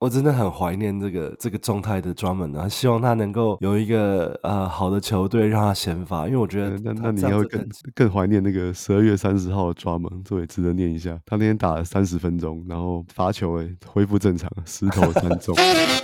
我真的很懷念這個狀態的 Drummond 啊，希望他能夠有一個好的球隊讓他先發，因為我覺得那你要會更懷念那個12月30號的 Drummond， 這也值得念一下。他那天打了30分鐘，然後罰球恢復正常，10投3中。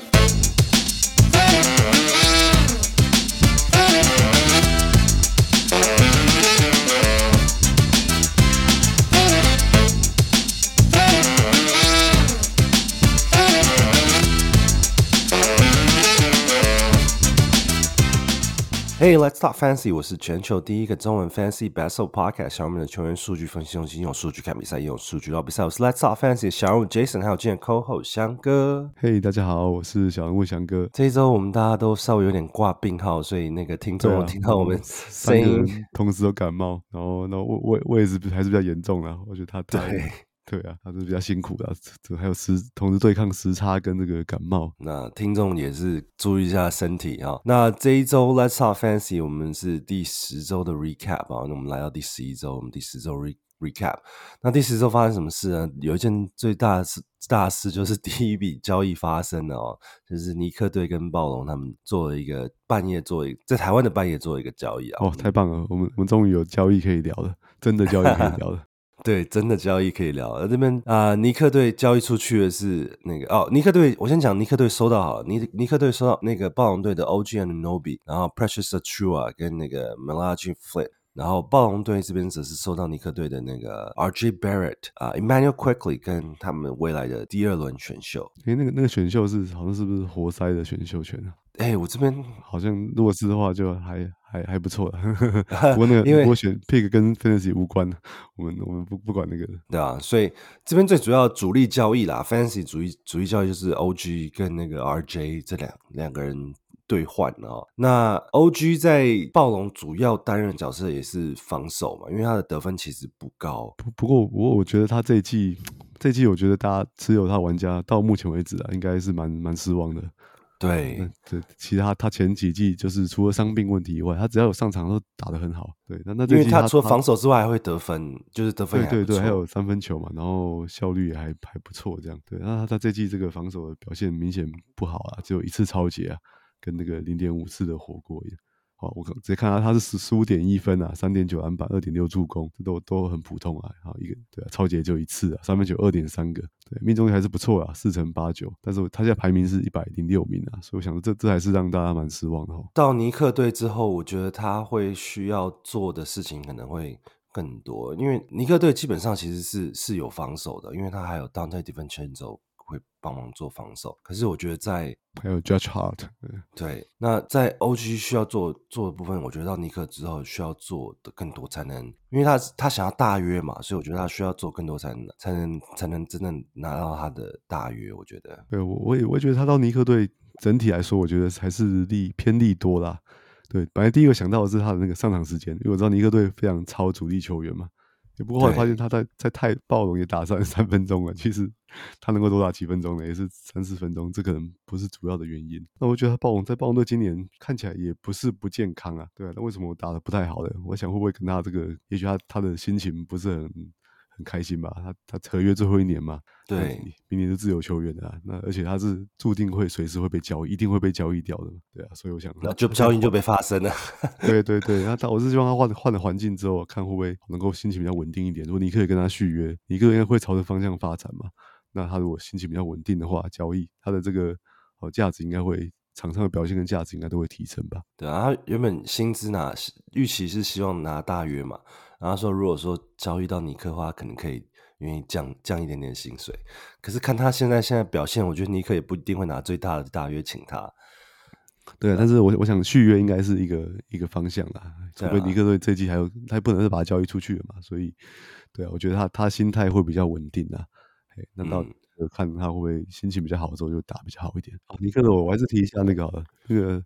Hey, let's talk fantasy. 我是全球第一個中文 fantasy basketball podcast 小人們的球員數據分析，用數據看比賽，用數據聊比賽。我是 Let's talk fantasy 的小人物 Jason， 還有今天 co-host 翔哥。 Hey， 大家好，我是小人物翔哥。 這一周我們大家都稍微有點掛病號，所以那個聽眾聽到我們聲音同時都感冒，然後我也是還是比較嚴重啦。我覺得他對啊，他是比較辛苦的，還有同時對抗時差跟這個感冒。 那聽眾也是注意一下身體啊。那這一周 Let's Talk Fantasy 我們是第10周的 recap 啊，那我們來到第11周，我們第10周 recap。那第10周發生什麼事呢？有一件最大事就是第一筆交易發生了哦，就是尼克隊跟暴龍他們做了一個在台灣的半夜做了一個交易啊。 哦，太棒了，我們終於有交易可以聊了，真的交易可以聊了。 對，真的交易可以聊。而這邊尼克隊交易出去的是那個尼克隊，我先講尼克隊收到好了，尼克隊收到那個暴龍隊的 OG Anunoby， 然後 Precious Achiuwa 跟那個 Malachi Flynn， 然後暴龍隊這邊則是收到尼克隊的那個 RJ Barrett、Emmanuel Quickley 跟他們未來的第2輪選秀。 那個選秀好像是不是活塞的選秀權啊？ 我這邊好像如果是的話就還不錯了。不過不過選 pick 跟 fantasy 無關，我們不管那個。對啊，所以這邊最主要主力交易啦 ，fantasy 主力交易就是 OG 跟那個 RJ 這兩個人兌換哦。那 OG 在暴龍主要擔任的角色也是防守嘛，因為他的得分其實不高。 不過我覺得他這一季我覺得大家持有他的玩家到目前為止啊，應該是蠻失望的。 對， 其他他前幾季就是除了傷病問題以外，他只要有上場都打得很好。对，那因为他除了防守之外還會得分，就是得分也還不錯。 對，還有3分球嘛，然後效率也還不錯這樣。對，那他這季這個防守的表現明顯不好啊，只有1次抄截啊，跟那個0.5次的火鍋一樣。好，我直接看到他是15.1分啊，3.9籃板，2.6助攻，這都很普通啊。好，對啊，抄截就1次啊，3分球2.3個，對，命中率還是不錯啊，4成8.9，但是他現在排名是106名啊，所以我想這還是讓大家蠻失望的。 到尼克隊之後，我覺得他會需要做的事情可能會更多，因為尼克隊基本上其實是有防守的，因為他還有 Dante DiVincenzo會幫忙做防守，可是我覺得還有 Judge Hart， 對，那在 OG 需要做的部分，我覺得到尼克之後需要做的更多才能，因为他想要大約嘛，所以我覺得他需要做更多才能真正拿到他的大約。我覺得， 對，我也覺得他到尼克隊整體來說，我覺得還是偏利多啦。對，本來第一個想到的是他的那個上場時間，因為我知道尼克隊非常超主力球員嘛。不過後來發現他在暴龍也打33分鐘了，其實他能夠多打幾分鐘呢，也是3-4分鐘，這可能不是主要的原因。那我覺得他在暴龍隊今年看起來也不是不健康啊，對啊，那為什麼我打得不太好呢？我想會不會跟他這個，也許他的心情不是很開心吧？他合約最後1年嘛， 對， 明年是自由球員的啊，那而且他是注定會隨時會被交易，一定會被交易掉的，對啊，所以我想那就交易就被發生了。 对，那我是希望他換了環境之後，看會不會能夠心情比較穩定一點。如果你可以跟他續約，尼克應該會朝着方向發展嘛。那他如果心情比較穩定的話，交易他的這個價值應該會，場上的表現跟價值應該都會提升吧。 對啊，他原本薪資預期是希望拿大約嘛，然後說如果說交易到尼克的話，可能可以願意降一點點薪水。可是看他現在表現，我覺得尼克也不一定會拿最大的大約請他。 对啊，但是我想續約應該是一個方向啦，除非尼克隊這季還有他不能是把他交易出去了嘛，所以對啊，我覺得他心態會比較穩定啦。那到看他會不會心情比較好的時候就打比較好一點。尼克隊我還是提一下那個好了，那個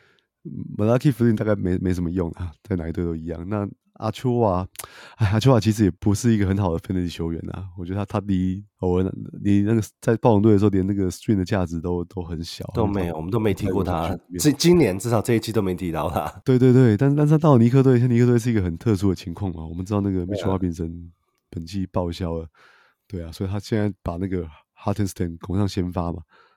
Malachi Flynn 大概沒什麼用啊，在哪一隊都一樣。那阿丘瓦其實也不是一個很好的 fantasy 球員啊，我覺得他離那個在暴龍隊的時候，連那個 stream 的價值都很小， 都沒有，我們都沒提過他。今年至少這一季都沒提到他。 對，但是他到了尼克隊，尼克隊是一個很特殊的情況嘛。我們知道那個 Mitchell Robinson 本季報銷了，對啊，所以他現在把那個 Hartenstein 拱上先發嘛。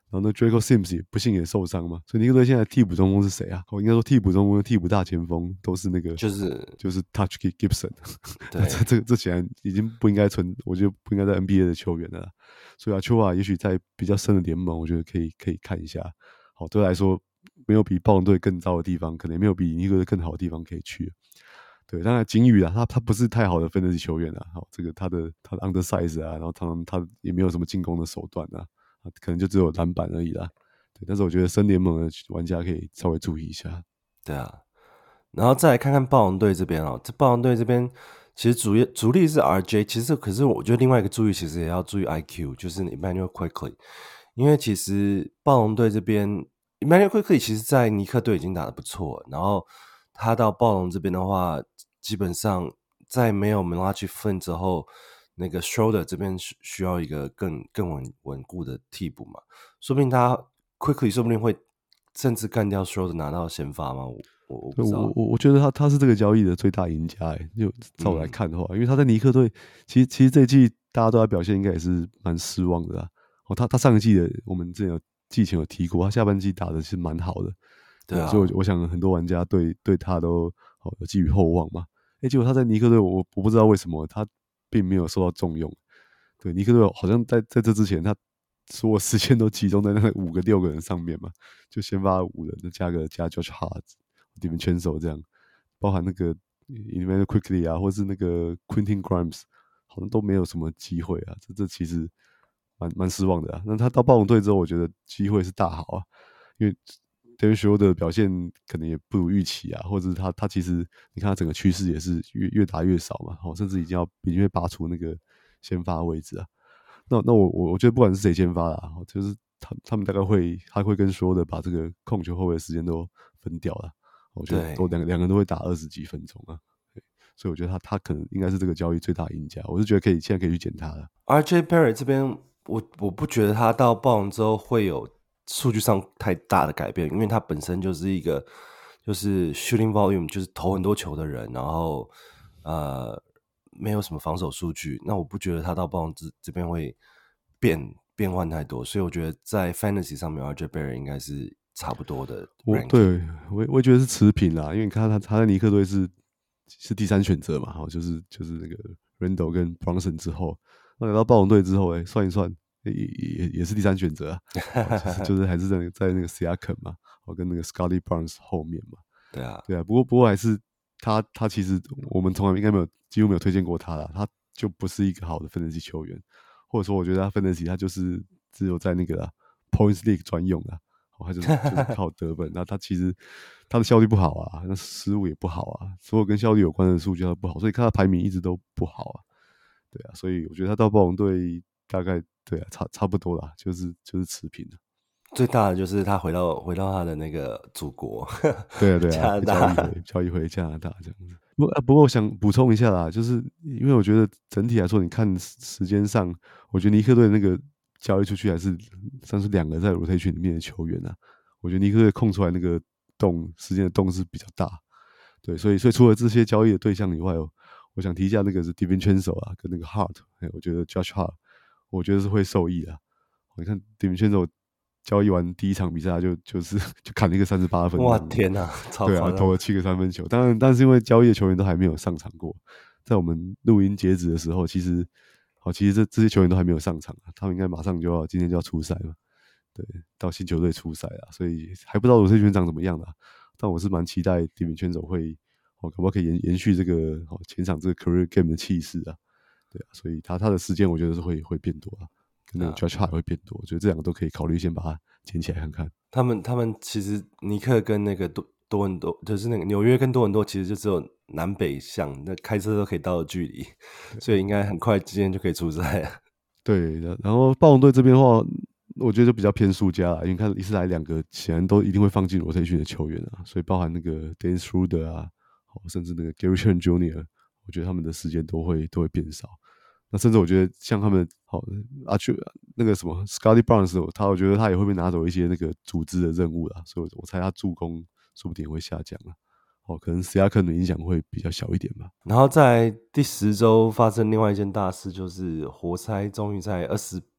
然後那 Draco Sims 也不幸也受傷嘛，所以尼克队现在替補中鋒是誰啊？我應該說替補中鋒、替補大前鋒都是那個，就是 Touch Gibson。 對， 这显然已經不應該我覺得不應該在 NBA 的球員了啦。所以啊，Achiuwa也許在比較深的聯盟，我覺得可以看一下。好，對我來說沒有比暴龍隊更糟的地方，可能也沒有比尼克隊更好的地方可以去。對，當然景宇啊，他不是太好的fantasy球員啊。好，這個他的 undersize 啊，然後他也沒有什麼進攻的手段啊。可能就只有籃板而已啦，對。但是我覺得深聯盟的玩家可以稍微注意一下。 對啊，然後再來看看暴龍隊這邊哦，這暴龍隊這邊其實主力是 RJ， 其實可是我覺得另外一個注意其實也要注意 IQ， 就是 Immanuel Quickley， 因為其實暴龍隊這邊 Immanuel Quickley 其實在尼克隊已經打得不錯，然後他到暴龍這邊的話，基本上在沒有 Malachi Flynn 之後。那個 Schroeder 這邊需要一個更穩固的替補嘛，說不定他 Quickly 說不定會甚至幹掉 Schroeder 拿到先發嘛，我不知道。 我覺得他是這個交易的最大贏家就照我來看的話，因為他在尼克隊其實這一季大家都在表現應該也是蠻失望的啦。他上一季的我們之前季前有提過，他下半季打的是蠻好的，對啊，所以我想很多玩家對他都有寄予厚望嘛。結果他在尼克隊我不知道為什麼他並沒有受到重用，對，尼克隊好像在這之前，他所有時間都集中在那5個6個人上面嘛，就先發5人，再加 Josh Hart、DiVincenzo 這樣，包含那個 Immanuel Quickley 啊，或是那個 Quentin Grimes， 好像都沒有什麼機會啊，這其實蠻失望的啊。那他到暴龍隊之後，我覺得機會是大好啊，因為Dennis Schroeder 的表現可能也不如預期啊，或者是他其實你看他整個趨勢也是越打越少嘛，甚至已經被拔除那個先發位置啊。那我覺得不管是誰先發啦，就是他們大概他會跟Schroeder把這個控球後衛的時間都分掉了，我覺得兩個人都會打20幾分鐘啊。所以我覺得他可能應該是這個交易最大贏家，我是覺得現在可以去撿他了。 RJ Barrett 這邊我不覺得他到暴龍之後會有數據上太大的改變，因為他本身就是一個就是 shooting volume 就是投很多球的人，然後沒有什麼防守數據，那我不覺得他到暴龍這邊會變換太多，所以我覺得在 fantasy 上面 RJ Barrett 應該是差不多的 ranking。 對，我也覺得是持平啦，因為你看他在尼克隊是第3選擇嘛，就是那個 Randle 跟 Brunson 之後，那來到暴龍隊之後，算一算。也是第3選擇啊，就是還是在那個 Siakam 嘛，跟那個 Scottie Barnes 後面嘛。對啊，不過還是他其實我們從來應該幾乎沒有推薦過他啦，他就不是一個好的 fantasy 球員，或者說我覺得他 fantasy 他就是只有在那個啦 Points League 專用啦，他就是靠得分，那他其實他的效率不好啊，那失誤也不好啊，所有跟效率有關的數據都不好，所以看他排名一直都不好啊。對啊，所以我覺得他到暴龍隊大概。對啊，差不多啦，就是持平的。 最大的就是他回到他的那個祖國， 對啊， 加拿大交易回加拿大這樣子。不過我想補充一下啦，就是因為我覺得整體來說，你看時間上，我覺得尼克隊那個交易出去還是算是2個在 rotation 裡面的球員啊。我覺得尼克隊空出來那個時間的洞是比較大。對，所以除了這些交易的對象以外，我想提一下那個是 DiVincenzo 啊，跟那個 Hart， 我覺得 Josh Hart。我覺得是會受益的。你看 DiVincenzo 交易完第1場比賽就砍了一個38分。 哇天哪，超對啊，投了7個3分球。當然，但是因為交易的球員都還沒有上場過，在我們錄音截止的時候，其實這些球員都還沒有上場，他們應該馬上今天就要出賽嘛。對，到新球隊出賽了，所以還不知道羅賽群長怎麼樣啦。但我是蠻期待 DiVincenzo 會搞不好可以延續這個前場這個 career game 的氣勢啊。對啊，所以他的時間我覺得是會變多啊，跟那個 Josh Hart 會變多，我覺得這2個都可以考慮先把它撿起來看看。 他們其實尼克跟那個多倫多，就是那個紐約跟多倫多，其實就只有南北向，那開車都可以到的距離，所以應該很快今天就可以出賽了。 對，然後暴龍隊這邊的話，我覺得就比較偏輸家啦，因為看一次來2個顯然都一定會放進 rotation 的球員啊，所以包含那個 Dennis Schroeder 啊，甚至那個 Gary Trent Jr.。我覺得他們的時間都會變少，那甚至我覺得像他們那個什麼 Scottie Barnes， 我覺得他也會被拿走一些那個組織的任務啦，所以我猜他助攻說不定也會下降啦。可能 Siakam 的影響會比較小一點吧。 然後在第10周發生另外一件大事，就是活塞終於在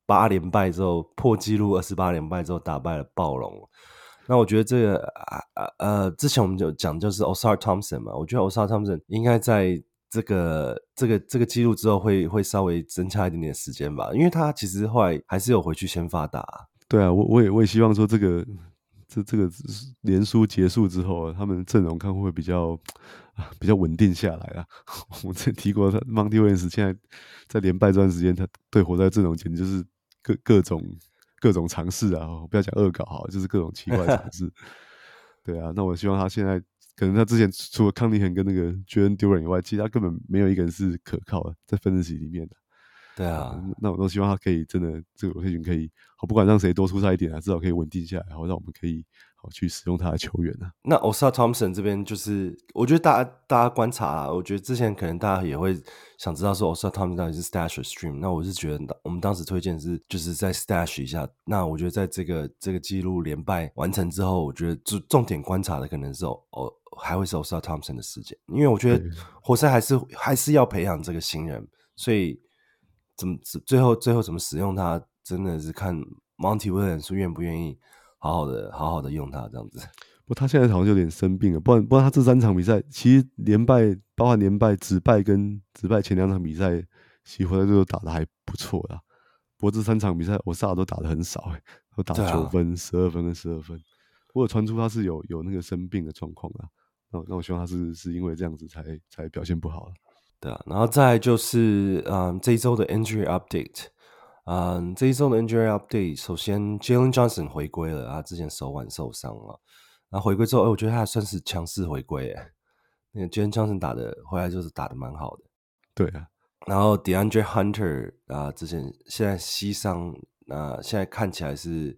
8連敗之後破紀錄28連敗之後打敗了暴龍。那我覺得這個之前我們就講就是 Ausar Thompson 嘛，我覺得 Ausar Thompson 應該在這個記錄之後會稍微增加一點點時間吧，因為他其實後來還是有回去先發打。 對啊，我也希望說這個連輸結束之後，他們陣容看會比較穩定下來啊。我們之前提過，Monty Williams 現在在連敗這段時間，他對活塞陣容簡直就是各種嘗試啊，不要講惡搞好，就是各種奇怪的嘗試。對啊，那我希望他現在可能他之前除了康尼肯跟那個 Jalen Duren 以外，其實他根本沒有一個人是可靠的，在分析裡面的。 對啊， 那我都希望他可以真的這個 rotation 可以好，不管讓誰多出赛一點啊，至少可以穩定下來，然後讓我們可以好去使用他的球員啊。 那 Ausar Thompson 這邊就是我覺得大家觀察啦，我覺得之前可能大家也會想知道說 Ausar Thompson 到底是 stash 或 stream， 那我是覺得我們當時推薦是就是在 stash 一下。那我覺得在這個紀錄連敗完成之後，我覺得重點觀察的可能是還會是 Ausar Thompson 的事件，因為我覺得活塞還是要培養這個新人，所以最後怎么使用他，真的是看 Monty Williams 願不願意好好的用他这樣子。 不，他現在好像有點生病了，不然他這3場比賽其實連敗，包含連敗、止敗跟止敗前2場比賽，其實活塞都打得還不錯啦。不過這3場比賽Ausar都打得很少，都打9分、12分跟12分。我有傳出他是有那個生病的狀況啦。那我希望他是因為這樣子才表現不好了。 對啊，然後再來就是這一周的 injury update。這一周的 injury update， 首先 Jalen Johnson 回歸了，他之前手腕受傷了，然後回歸之後，我覺得他還算是強勢回歸，那個 Jalen Johnson 回來就是打得蠻好的。 對啊， 然後 DeAndre Hunter 之前現在膝傷，現在看起來是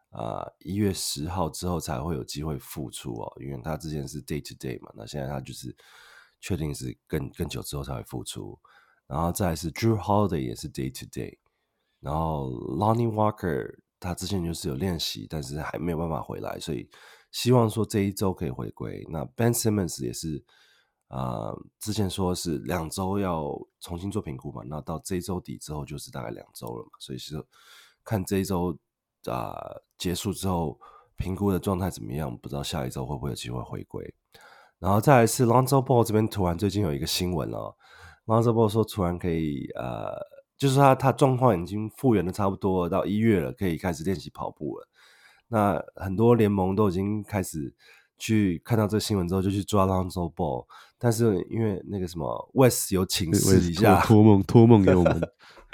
1月10號之後才會有機會復出哦，因為他之前是 day to day 嘛，那現在他就是確定是更久之後才會復出。然後再來是 Drew Holiday 也是 day to day。然後 Lonnie Walker 他之前就是有練習，但是還沒有辦法回來，所以希望說這一周可以回歸。那 Ben Simmons 也是之前說是2周要重新做評估嘛，那到這一周底之後就是大概2周了嘛，所以是看這一周結束之後評估的狀態怎麼樣，不知道下一周會不會有機會回歸。然後再來是 Lonzo Ball 這邊突然最近有一個新聞了，Lonzo Ball 說突然可以就是他狀況已經復原的差不多了，到1月了，可以開始練習跑步了。那很多聯盟都已經開始去看到這個新聞之後，就去抓 Lonzo Ball， 但是因為那個什麼 West 有請示一下， 托夢給我們。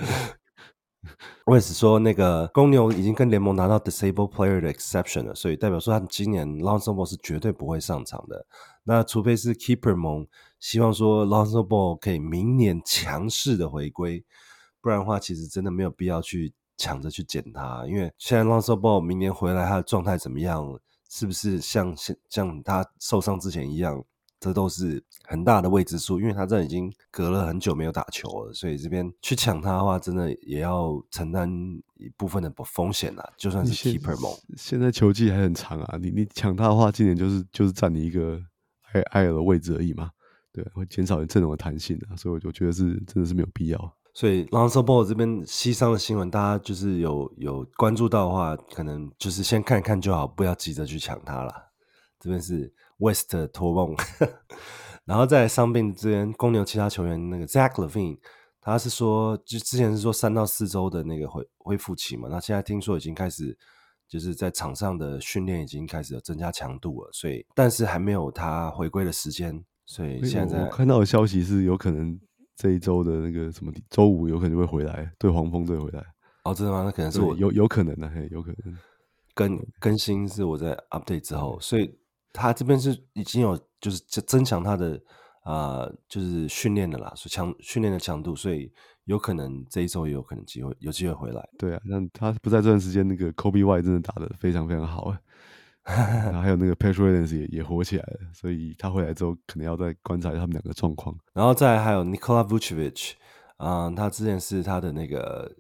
West 說那個公牛已經跟聯盟拿到 Disabled Player 的 Exception 了，所以代表說他今年 Lonzo Ball 是絕對不會上場的。那除非是 Keeper 盟希望說 Lonzo Ball 可以明年強勢的回歸，不然的話其實真的沒有必要去搶着去撿他，因為現在 Lonzo Ball 明年回來他的狀態怎麼樣，是不是像他受傷之前一樣，這都是很大的未知數，因為他這已經隔了很久沒有打球了，所以這邊去搶他的話真的也要承擔一部分的風險啦，就算是 Keeper 盟現在球季還很長啊，你搶他的話今年就是占你一個IR的位置而已嘛，對，會減少你陣容的彈性啊，所以我覺得真的是沒有必要。 所以 Lonzo Ball 這邊膝傷的新聞，大家就是有關注到的話，可能就是先看一看就好，不要急着去搶他啦。這邊是 West 托夢，然後在傷病這邊，公牛其他球員那個 Zach LaVine， 他是說，就之前是說3到4周的那個恢復期嘛，那現在聽說已經開始，就是在場上的訓練已經開始有增加強度了，所以但是還沒有他回歸的時間，所以現在我看到的消息是有可能這一周的那個什麼周5有可能會回來，對黃蜂隊回來。 哦，真的嗎？那可能是我有可能的，有可能更新是我在 update 之後，所以他這邊是已經有就是增強他的就是訓練的啦，所以訓練的強度，所以有可能這一周也有可能有機會回來。 對啊，那他不在這段時間，那個 Kobe White 真的打得非常非常好，然後還有那個 Patrick Williams 也火起來了，所以他回來之後可能要再觀察一下他們2個狀況。 然後再來還有 Nikola Vucevic，他之前是他的那個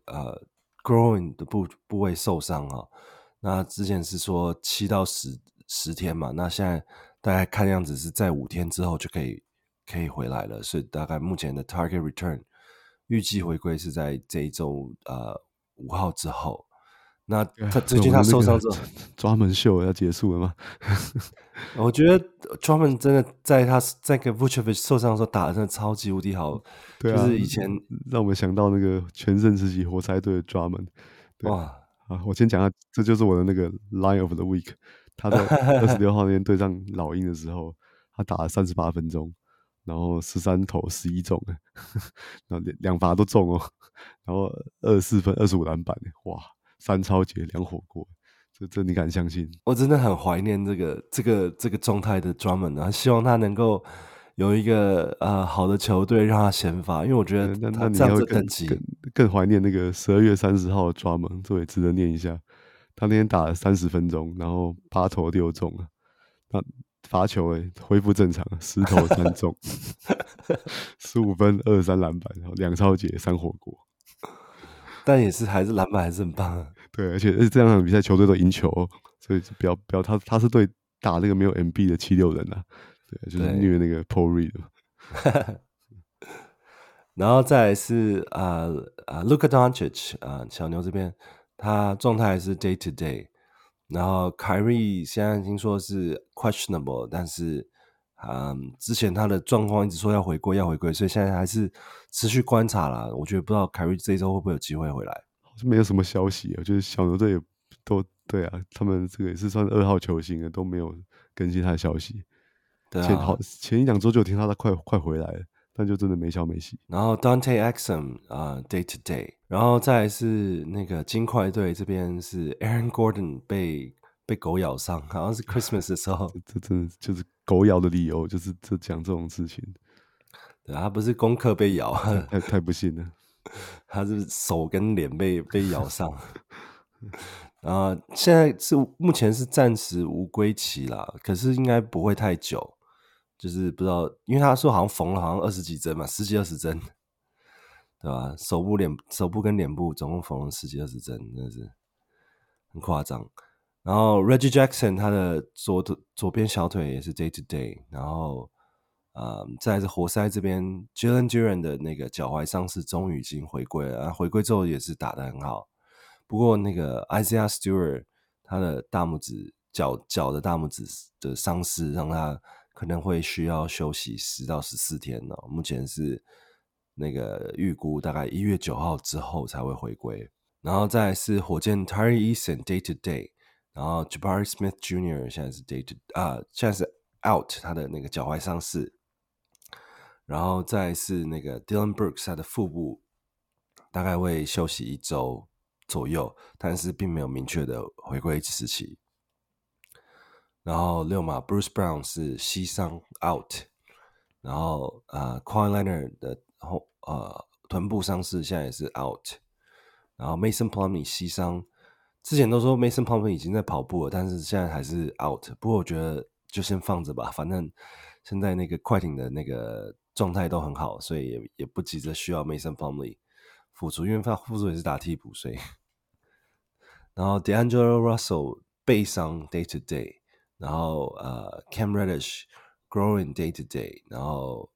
groin 的部位受傷啊，那之前是說7到10天嘛，那現在大概看樣子是在5天之後就可以回來了，所以大概目前的 target return 預計回歸是在這一周 5號之後。那他最近他受傷之後， 抓門秀要結束了嗎？ 我覺得 Drummond 真的在他在跟 Vucevic 受傷的時候打的真的超級無敵好， 對啊， 就是以前讓我們想到那個全盛時期活塞隊的 Drummond。 哇啊，我先講下，這就是我的那個 Line of the Week。他在26號那天對上老鷹的時候，他打了38分鐘，然後13投11中，然後兩罰都中哦，然後24分25籃板，哇，3抄截2火鍋，這你敢相信？ 我真的很懷念這個狀態的 Drummond 啊，希望他能夠有一個好的球隊讓他先發，因為我覺得他這樣子等級更懷念那個12月30號的 Drummond，這也值得念一下。他那天打了30分鐘，然後8投6中了，那罰球恢復正常，10投3中，15分23籃板，然後2抄截3火鍋， 但也是還是籃板還是很棒啊。 對，而且這兩場比賽球隊都贏球，所以不要他是對打那個沒有 MB 的76人啊，對，就是虐那個 Paul Reed。 然後再來是Luka Doncic 小牛這邊他狀態還是 day to day， 然後 Kyrie 現在聽說是 questionable， 但是之前他的狀況一直說要回歸，所以現在還是持續觀察啦。我覺得不知道 Kyrie 這一周會不會有機會回來，好像沒有什麼消息啊，就是小牛隊也都對啊，他們這個也是算2號球星的，都沒有更新他的消息。對啊，前1-2周就聽他快回來了。但就真的沒消沒息。 然後 Dante Exum day to day， 然後再來是那個金塊隊這邊是 Aaron Gordon 被狗咬傷，好像是 Christmas 的時候。 這真的就是狗咬的理由，就是講這種事情。 對，他不是功課被咬， 太不幸了。 他是手跟臉被咬傷。然後現在是目前是暫時無歸期啦，可是應該不會太久。就是不知道，因為他說好像縫了好像20幾針嘛，10幾20針，對吧？手部跟臉部總共縫了10幾20針，真的是很誇張。然後 Reggie Jackson 他的左邊小腿也是 day to day， 然後再來是活塞這邊 Jalen Duren 的那個腳踝傷勢終於已經回歸了，回歸之後也是打得很好。不過那個 Isaiah Stewart 他的大拇指腳的大拇指的傷勢讓他可能會需要休息10到14天哦，目前是那個預估大概1月9號之後才會回歸。然後再來是火箭 Tari Eason day to day， 然後 Jabari Smith Jr. 現在是現在是 out 他的那個腳踝傷勢。然後再來是那個 Dylan Brooks 他的腹部大概會休息1周左右，但是並沒有明確的回歸時期。然後6碼 Bruce Brown 是膝傷 out， 然後Kawhi Leonard 的臀部傷勢現在也是 out， 然後 Mason Plumlee 膝傷，之前都說 Mason Plumlee 已經在跑步了，但是現在還是 out。不過我覺得就先放着吧，反正現在那個快艇的那個狀態都很好，所以也不急着需要 Mason Plumlee 復出，因為他復出也是打替補，所以。然後 D'Angelo Russell 背傷 day to day。然後Cam Reddish growing day to day， 然後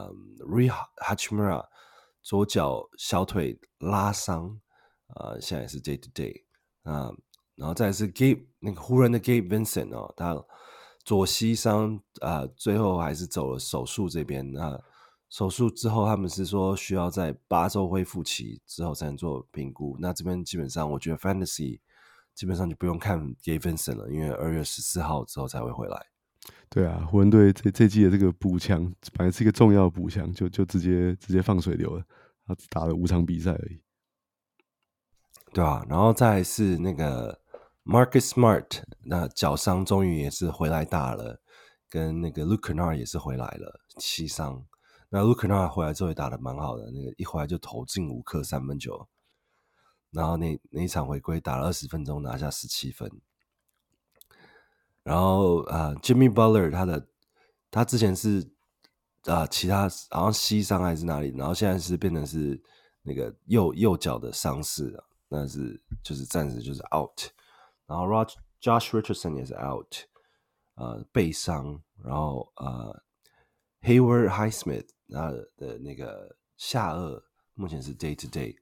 Rui Hachimura 左腳小腿拉傷，現在也是 day to day， 然後再來是 那個湖人的 Gabe Vincent 哦，他左膝傷，最後還是走了手術這邊。那手術之後他們是說需要在8周恢復期之後才能做評估。那這邊基本上我覺得 Fantasy基本上就不用看 Gabe Vincent 了，因為2月14號之後才會回來。 對啊，湖人隊這季的這個補強本來是一個重要的補強，就直接放水流了，他只打了5場比賽而已。 對啊，然後再來是那個 Marcus Smart， 那腳傷終於也是回來打了，跟那個 Luke Kennard 也是回來了，膝傷。那 Luke Kennard 回來之後也打得蠻好的，那個一回來就投進5顆3分球。然後那一場回歸打了20分鐘，拿下17分。然後Jimmy Butler 他之前是其他好像膝傷還是哪裡，然後現在是變成是那個右腳的傷勢，那是就是暫時就是 out。然後 Josh Richardson 也是 out， 背傷。然後Hayward Highsmith 他的那個下顎目前是 day to day。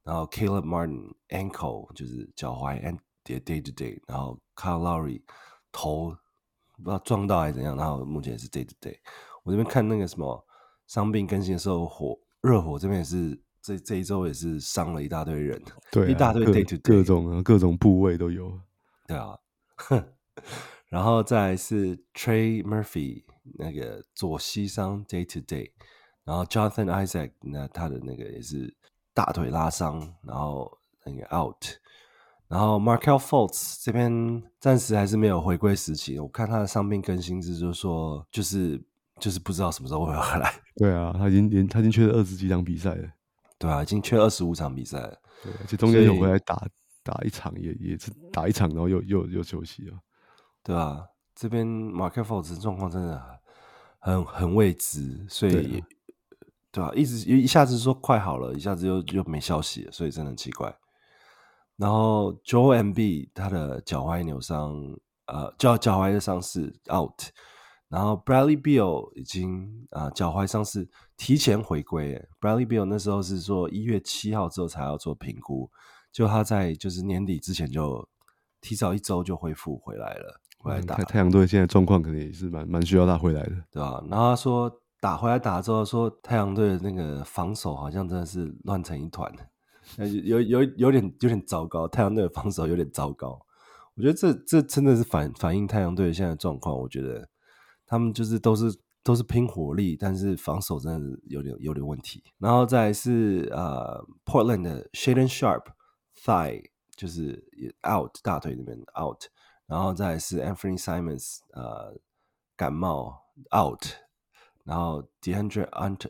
然後 Caleb Martin ankle 就是腳踝 and day to day， 然後 Kyle Lowry 頭不知道撞到還是怎樣，然後目前也是 day to day。我這邊看那個什麼傷病更新的時候，熱火這邊也是這一周也是傷了一大堆人， 對、啊， 一大堆 day to day， 各種部位都有。 对啊，然後再來是 Trey Murphy 那個左膝傷 day to day， 然後 Jonathan Isaac 那他的那個也是大腿拉傷，然後那個 out， 然後 Markelle Fultz 這邊暫時還是沒有回歸時期，我看他的傷病更新是就是說就是不知道什麼時候會回來。對啊，他已經缺了20幾場比賽了。 对啊，已經缺25場比賽了。 對，而且中間有回来打一場，也是打一场，然後又休息了。对啊，這邊 Markelle Fultz 狀況真的很未知，所以對啊，一下子說快好了，一下子又沒消息了，所以真的很奇怪。然後 Joel Embiid 他的腳踝扭傷，腳踝的傷勢 out。然後 Bradley Beal 已經腳踝傷勢提前回歸。Bradley Beal 那時候是說1月7號之後才要做評估，就他在就是年底之前就提早1周就恢復回來了，回來打。 太陽隊現在狀況可能也是蠻需要他回來的， 對吧？然後他說回來打之後說太陽隊的那個防守好像真的是亂成一團，有點糟糕，太陽隊的防守有點糟糕。我覺得這真的是反映太陽隊現在的狀況，我覺得。他們就是都是拼火力，但是防守真的是有點問題。然後再來是Portland 的 Shaedon Sharpe thigh 就是 out 大腿那邊 out， 然後再來是 Anthony Simons 感冒 out， 然後 DeAndre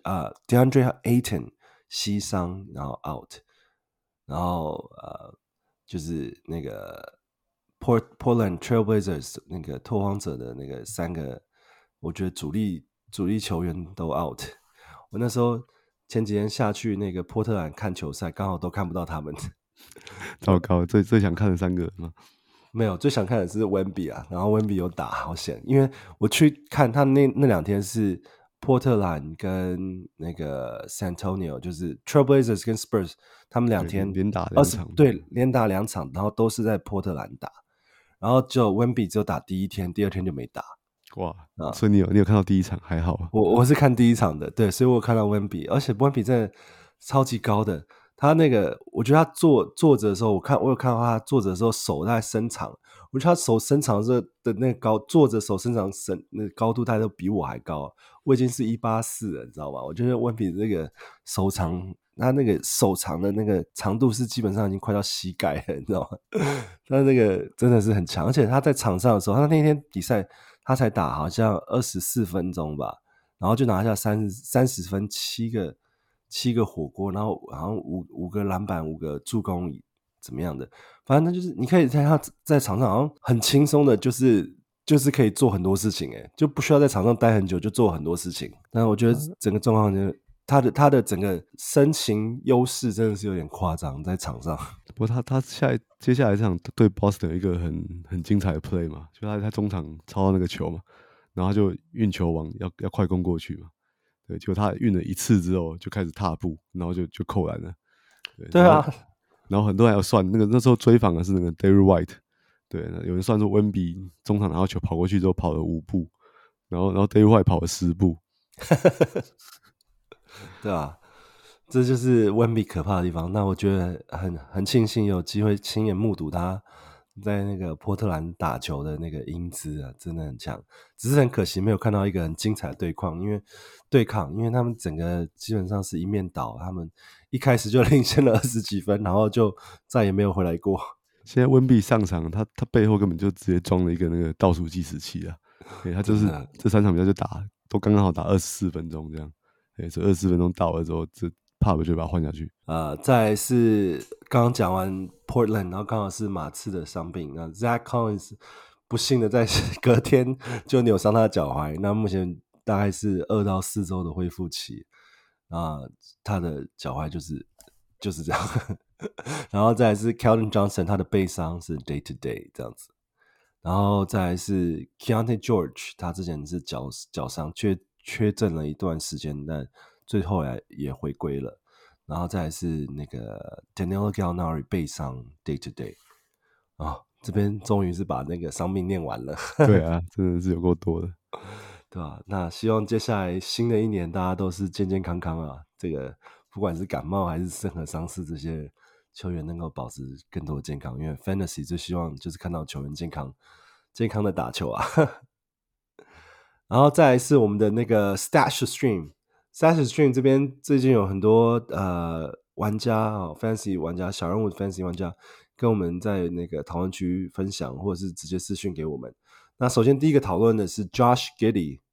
Ayton 膝傷然後 out， 然後就是那個 Portland Trailblazers 那個拓荒者的那個3個。我覺得主力球員都 out。我那時候前幾天下去那個波特蘭看球賽，剛好都看不到他們。 糟糕，最想看的3個嗎？ 沒有，最想看的是 Wemby 啊，然後 Wemby 有打，好險！因為我去看他那2天是波特蘭跟那個 San Antonio， 就是 Trailblazers 跟 Spurs， 他們2天連打2場， 對，連打2場，然後都是在波特蘭打，然後就 Wemby 只有打第1天，第2天就沒打。 哇，所以你有看到第1場還好啊？ 我是看第1場的，對，所以我有看到 Wemby， 而且 Wemby 真的超級高的。他那個，我覺得他坐着的時候，我有看到他坐着的時候手大概伸長，我覺得他手伸長的那個高，坐着手伸長那個高度大概都比我還高，我已經是184了，你知道嗎？我覺得 Wemby 那個手長，他那個手長的那個長度是基本上已經快到膝蓋了，你知道嗎？他那個真的是很強，而且他在場上的時候，他那天比賽。他才打好像24分鐘吧，然後就拿下30分7個火鍋，然後好像5個籃板5個助攻怎麼樣的，反正他就是你可以在他在場上好像很輕鬆的，就是可以做很多事情，就不需要在場上待很久就做很多事情。但我覺得整個狀況就是他的整個身形優勢真的是有點誇張在場上。 不過他接下來這場對 Boston 有一個很精彩的 play 嘛，就他中場抄到那個球嘛，然後他就運球往要快攻過去嘛，對，結果他運了1次之後就開始踏步，然後就扣籃了。 對啊， 然後很多人還有算那時候追訪的是那個 Derrick White， 對，有人算說 Wemby 中場拿到球跑過去之後跑了5步，然後 Derrick White 跑了10步。 對啊，這就是 Wemby 可怕的地方。那我覺得很慶幸有機會親眼目睹他在那個波特蘭打球的那個英姿啊，真的很強。只是很可惜沒有看到一個很精彩的對抗，因為他們整個基本上是一面倒，他們一開始就領先了20幾分，然後就再也沒有回來過。 現在溫比上場，他背後根本就直接裝了一個那個倒數計時器啊！對，他就是這3場比賽就都剛剛好打24分鐘這樣。對，這24分鐘到了之後，這帕布就把他換下去。再來是剛剛講完 Portland， 然後剛好是馬刺的傷病，那 Zach Collins 不幸的在隔天就扭傷他的腳踝，那目前大概是2到4周的恢復期，他的腳踝就是這樣。然後再來是 Keldon Johnson， 他的背傷是 day to day 這樣子。然後再來是 Keontae George， 他之前是腳傷缺陣了一段時間，但最後來也回歸了。 然後再來是那個 Danilo Gallinari 背傷 day to day 這邊終於是把那個傷病念完了。 對啊，真的是有夠多的。 對吧？那希望接下來新的一年大家都是健健康康啊。这個不管是感冒還是任何傷勢，這些球員能夠保持更多的健康。因為 Fantasy 最希望就是看到球員健康的打球啊。然後再來是我們的那個 Stash Stream 這邊最近有很多玩家Fantasy 玩家，小人物 Fantasy 玩家跟我們在那個討論區分享，或者是直接私訊給我們。那首先第一個討論的是 Josh Giddey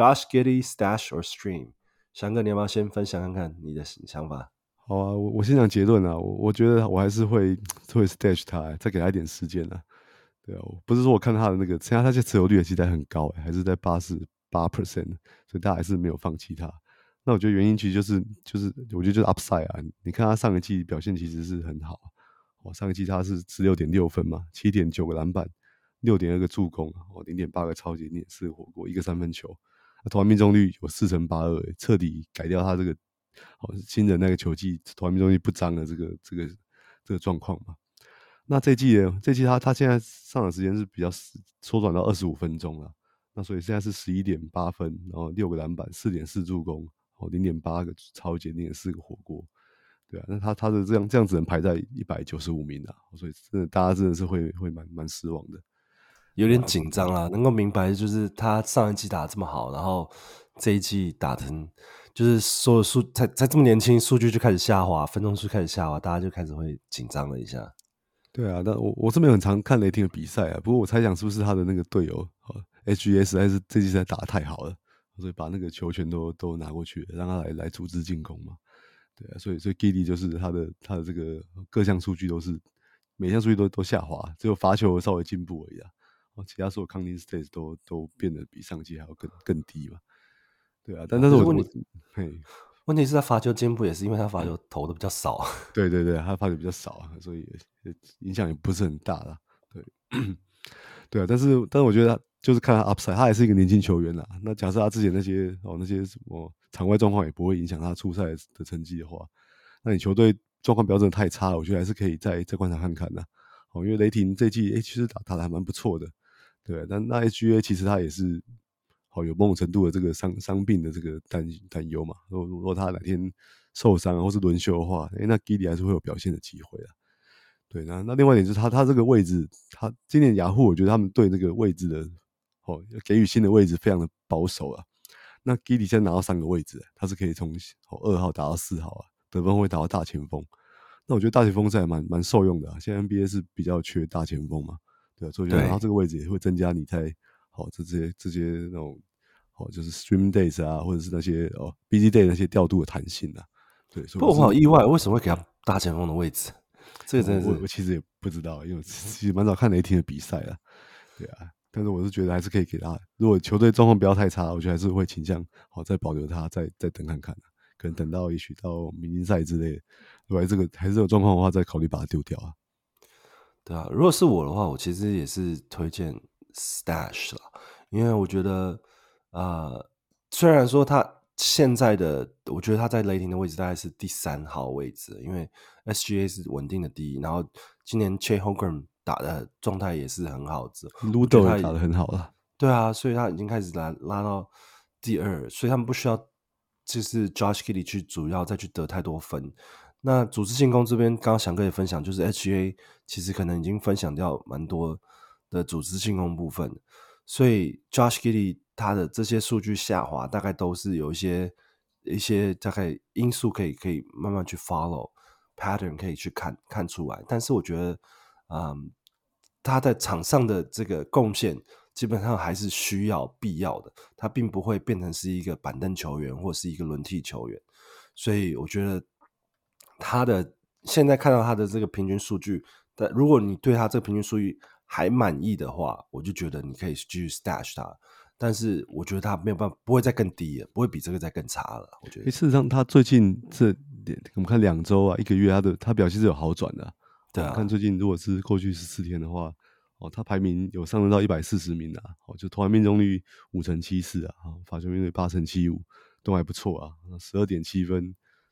Stash or Stream， 翔哥你要不要先分享看看你的想法？ 好啊，我先講結論啊，我覺得我還是會 Stash 他，再給他一點時間啊。對啊，不是說我看他的那個，現在他現在持有率其實很高，還是在88%，所以大家還是沒有放棄他。那我覺得原因其實就是我覺得就是 upside 啊，你看他上一季表現其實是很好，上一季他是16.6分嘛，7.9個籃板，6.2個助攻，0.8個抄截，0.4個火鍋，1個三分球，投籃命中率有4成82，徹底改掉他這個新人那個球技投籃命中率不彰的這個狀況嘛。那這一季他現在上場時間是比較縮短到25分鐘了，那所以現在是11.8分，然後6個籃板，4.4助攻，0.8個抄截，0.4個火鍋，對啊，那他的這樣只能排在195名啊，所以真的大家真的是會蠻失望的， 有點緊張啦。能夠明白就是他上一季打得這麼好，然後這一季打成就是所有在這麼年輕，數據就開始下滑，分鐘數開始下滑，大家就開始會緊張了一下。 對啊，但我是沒有很常看雷霆的比賽啊，不過我猜想是不是他的那個隊友SGA 實在是這季實在打得太好了，所以把那個球權都拿過去了，讓他來組織進攻嘛。對啊，所以 Giddey 就是他的這個各項數據都是每項數據都下滑，只有罰球稍微進步而已啊。其他所有 counting stats 都變得比上季還要更低嘛。對啊，但是問題是他罰球進步也是因為他罰球投的比較少。 對，他罰球比較少啊，所以影響也不是很大啦。對，對啊，但是我覺得他就是看他 upside， 他還是一個年輕球員啦。那假設他之前那些什麼場外狀況也不會影響他出賽的成績的話，那你球隊狀況不要真的太差了，我覺得還是可以再觀察看看的。因為雷霆這季其實打得還蠻不錯的，對。但那 SGA 其實他也是有某種程度的這個傷病的這個擔憂嘛。如果他哪天受傷或是輪休的話，那 Giddey 還是會有表現的機會啦。對，那另外一點就是他這個位置，他今年雅虎我覺得他們對這個位置的給予新的位置非常的保守啊。那 Giddey 現在拿到3個位置，他是可以從2號打到4號啊，得分會打到大前鋒。那我覺得大前鋒是還蠻受用的啊。現在 NBA 是比較缺大前鋒嘛，對啊，所以拿到這個位置也會增加你在這些那種就是 Stream Days 啊，或者是那些BG Day 那些調度的彈性啊。对，所以不過我好意外，為什麼會給他大前鋒的位置？這個真的是我其實也不知道，因為我其實蠻少看雷霆的比賽啊。對啊，但是我是覺得還是可以給他，如果球隊狀況不要太差，我覺得還是會傾向再保留他，再等看看啊，可能等到也許到明星賽之類的，如果這個還是有狀況的話，再考慮把它丟掉啊。 對啊，如果是我的話，我其實也是推薦 Stash 啦，因為我覺得雖然說他現在的，我覺得他在雷霆的位置大概是第3號位置，因為 SGA 是穩定的第1，然後今年 Chet Holmgren 打的狀態也是很好 ，Ludo 也打得很好了。 對啊，所以他已經開始拉到第2，所以他們不需要就是 Josh Giddey 去主要再去得太多分。那組織進攻這邊，剛剛翔哥也分享，就是 SGA 其實可能已經分享掉蠻多的組織進攻部分，所以 Josh Giddey 他的這些數據下滑，大概都是有一些大概因素可以慢慢去 follow pattern， 可以去看出來。但是我覺得，他在場上的這個貢獻基本上還是必要的，他並不會變成是一個板凳球員或是一個輪替球員，所以我覺得他的現在看到他的這個平均數据，但如果你對他這個平均數据還滿意的話，我就覺得你可以繼續 stash 他。但是我覺得他沒有辦法，不會再更低了，不會比這個再更差了。我覺得事實上，他最近我們看2周啊，1個月，他表現是有好轉的。對啊，看最近如果是過去14天的話，他排名有上升到140名啊，就投籃命中率5成74啊，罰球命中率8成75，都還不錯啊，12.7分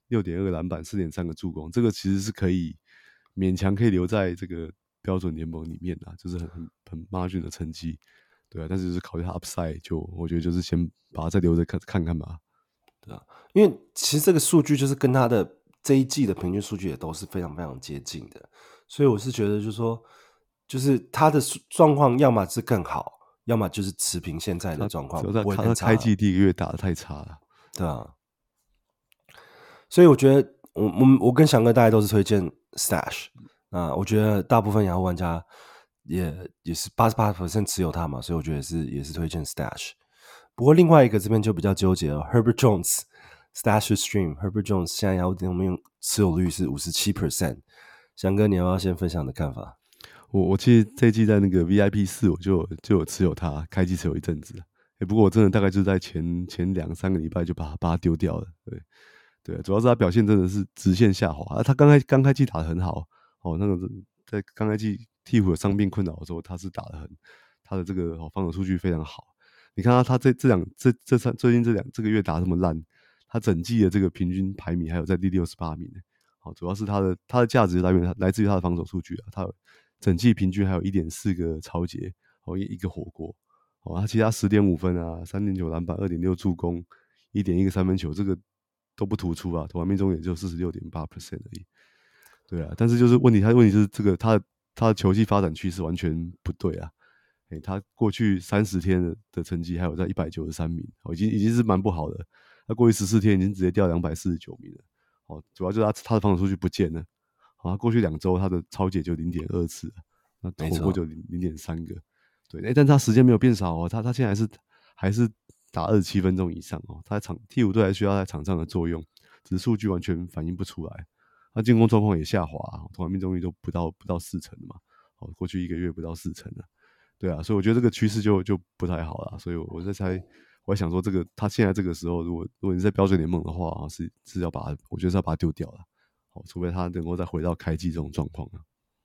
6.2個籃板，4.3個助攻，這個其實是可以勉強可以留在這個標準聯盟裡面啊，就是很 margin 的成績，對啊，但是就是考慮他 upside， 就我覺得就是先把它再留着看看吧， 對啊，因為其實這個數據就是跟他的這一季的平均數據也都是非常非常接近的，所以我是覺得就是說，就是他的狀況要麼是更好，要麼就是持平現在的狀況，不會更差。 他開季第一個月打得太差了， 對啊，所以我覺得我跟翔哥大家都是推薦 Stash 啊，我覺得大部分雅虎玩家也是88% 持有他嘛，所以我覺得也是推薦 Stash。不過另外一個這邊就比較糾結了 ，Herbert Jones Stash Stream Herbert Jones 現在雅虎點用持有率是 57%， 翔哥你要不要先分享你的看法？ 我其實這一季在那個 VIP 4我就有持有它，開季持有一陣子，不過我真的大概就在前2-3個禮拜就把它丟掉了，對，主要是他表現真的是直線下滑，他剛開季打得很好，那個在剛開季鹈鶘有傷病困擾的時候，他是打得他的這個防守數據非常好。你看他最近這個月打這麼爛，他整季的這個平均排名還有在第68名，主要是他的價值來自於他的防守數據啊，他整季平均還有 1.4 個抄截，一個火鍋，他其他10.5分啊，3.9籃板，2.6助攻，1.1個三分球，這個都不突出啊，投籃命中也就 46.8% 而已。對啊，但是就是問題就是這個他的球技發展趨勢完全不對啊，他過去30天的成績還有在193名，已經是蠻不好的。他過去14天已經直接掉249名了，主要就是他的防守數據不見了。他過去2周他的抄截就 0.2 次，那投過就 0.3 個。對，但他時間沒有變少哦，他現在還是打27分鐘以上哦。他在鹈鶘隊還需要在場上的作用，只是數據完全反映不出來。他進攻狀況也下滑，投籃命中率都不到40%嘛。過去1個月不到40%了。對啊，所以我覺得這個趨勢就不太好了。所以我在猜，我在想說，他現在這個時候，如果你在標準聯盟的話，是要我覺得是要把它丟掉了。除非他能夠再回到開季這種狀況啊。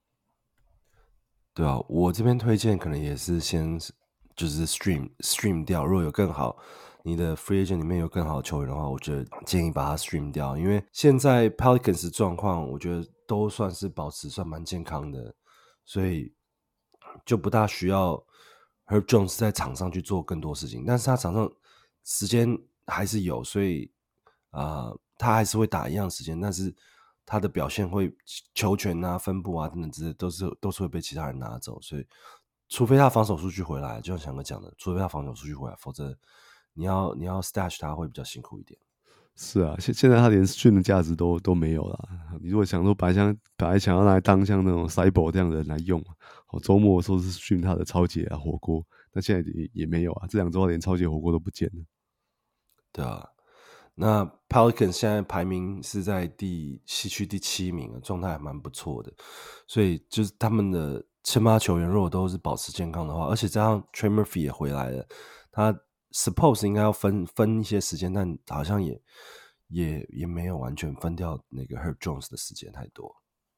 對啊，我這邊推薦可能也是先就是 stream 掉，如果有更好，你的 free agent 裡面有更好的球員的話，我覺得建議把它 stream 掉，因為現在 Pelicans 狀況，我覺得都算是保持算蠻健康的，所以就不大需要 Herb Jones 在場上去做更多事情，但是他场上時間還是有，所以他還是會打一樣時間，但是他的表現會球權啊、分布啊等等之類都是會被其他人拿走，所以除非他防守數據回來，就像翔哥講的，除非他防守數据回来，否則你要 stash 他会比較辛苦一點。是啊，現在他連 stream 的價值都沒有了。你如果想說本來想要拿來當像那種 Cyborg 這樣的人來用，周末說是 stream 他的抄截啊、火鍋，那現在也沒有啊，這2周連抄截火鍋都不見了。 對啊。那 Pelicans 現在排名是在西區第7名，狀態還蠻不錯的，所以就是他們的先發球員如果都是保持健康的話，而且加上 Trey Murphy 也回來了，他 suppose 應該要分一些時間，但好像也沒有完全分掉那個 Herb Jones 的時間太多，